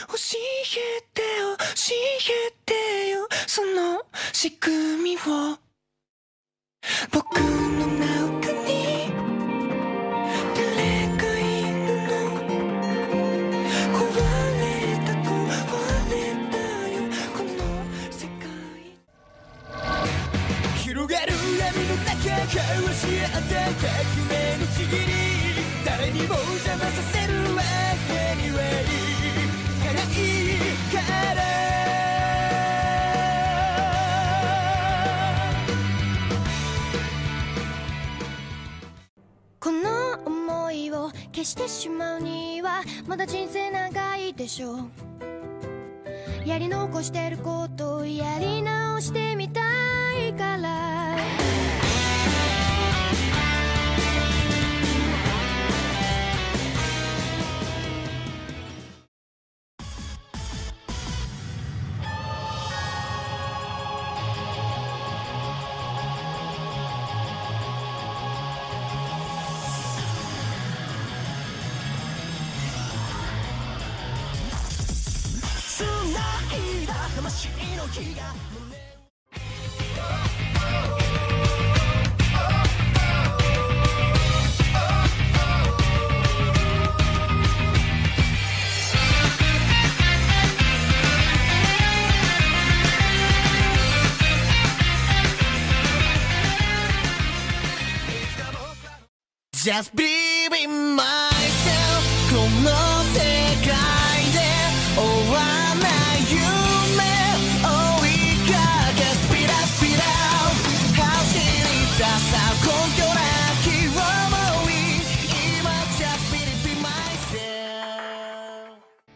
教えて教えてよその仕組みを僕の中に誰がいるの壊れたよこの世界広がる闇の中交し合って革命のちぎり誰にも邪魔させるわけにはいかないからこの想いを消してしまうにはまだ人生長いでしょうやり残してることをやり直してみたいから魂の火がJust believe in myself この世界で終わらない夢追いかけ Speed up speed up 走り出さ根拠なき想い今 Just believe in myself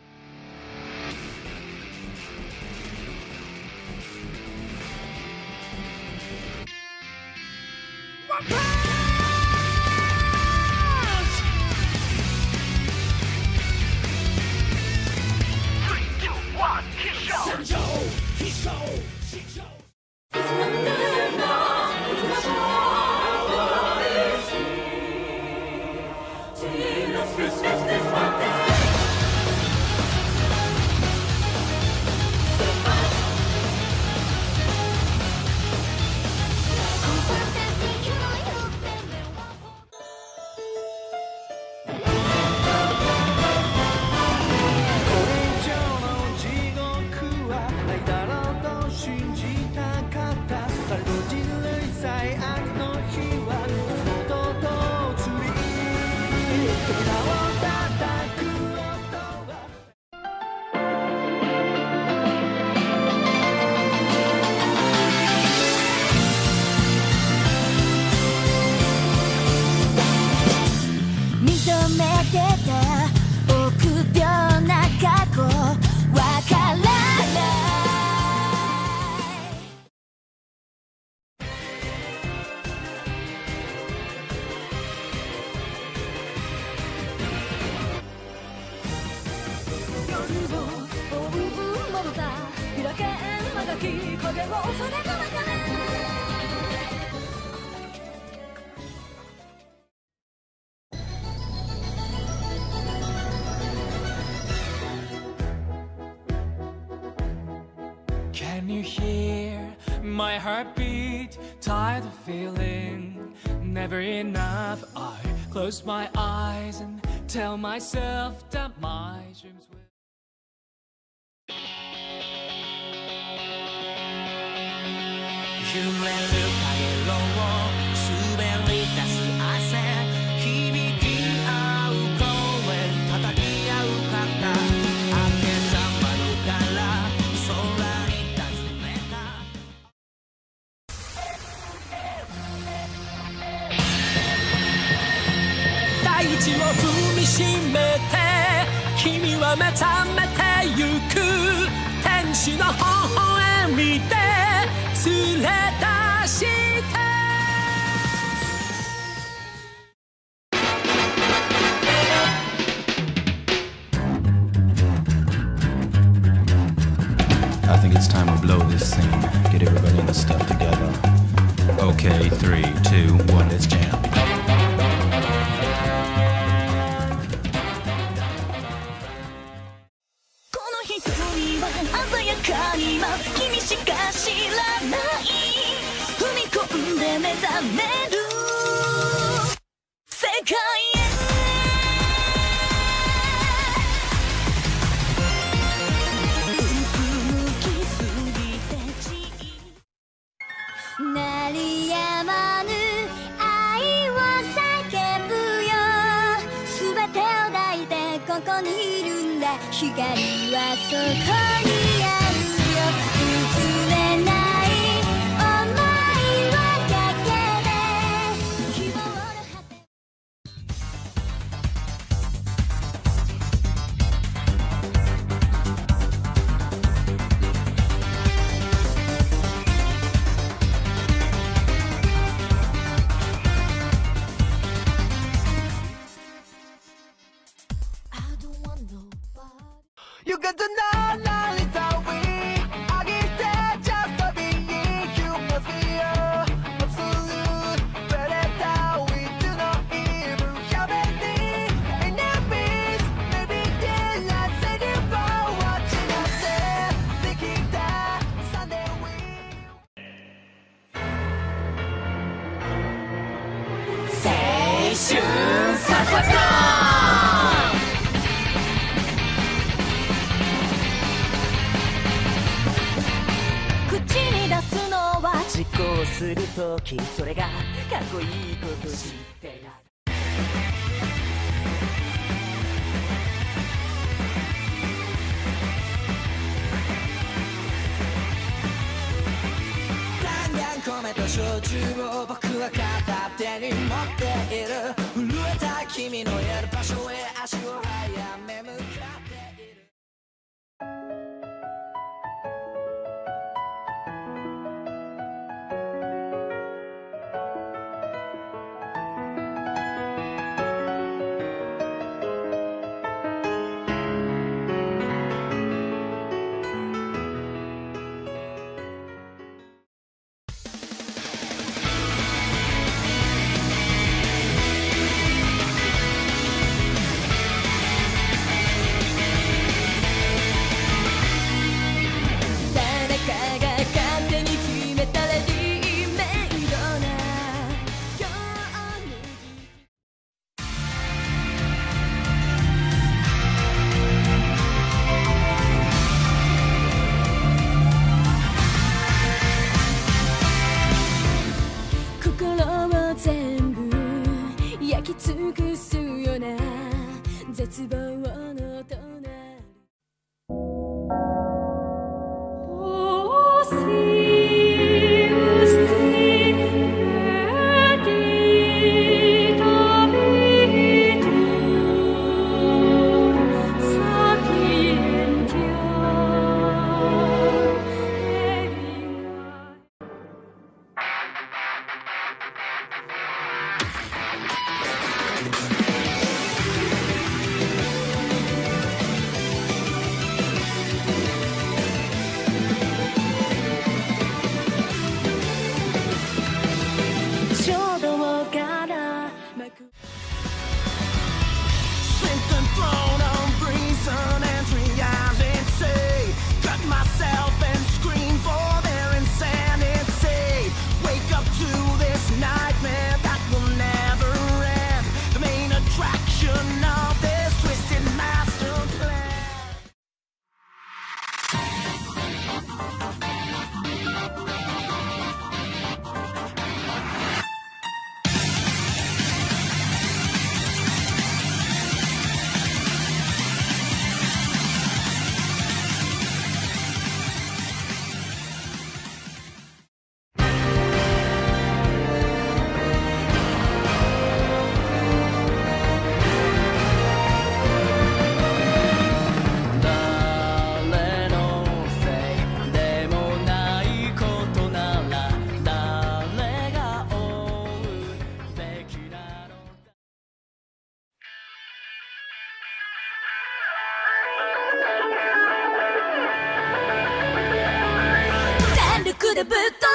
Can you hear my heartbeat? Tired of feeling never enough. I close my eyes and tell myself that my dreams will揺れるかげろう滑り出す汗響き合う声叩き合う肩開けた窓から空に尋ねた大地を踏みしめて君は目覚めてゆく天使の微笑みで連れ出して I think it's time we blow this scene. Get everybody in the stuff together. Okay, 3, 2, 1, let's jam. 界も君しか知らない、踏み込んで目覚める世界へ。鳴りやまぬ愛を叫ぶよ、すべてを抱いてここにいるんだ、光はそこにあるよ、譲れない想いはだけで希望の果て。 You got to know now it's how we I get there just to be you must be absolute predator. We do not even have any enemies. Maybe daylight say you for watching us there. Thinking that Sunday we 青春さささ実行するとき、それがかっこいいこと知ってる。弾丸米と焼酎を僕は片手に持っている、震えた君のいる場所へ足を早め向かっている。尽くすような絶望の隣。でぶっ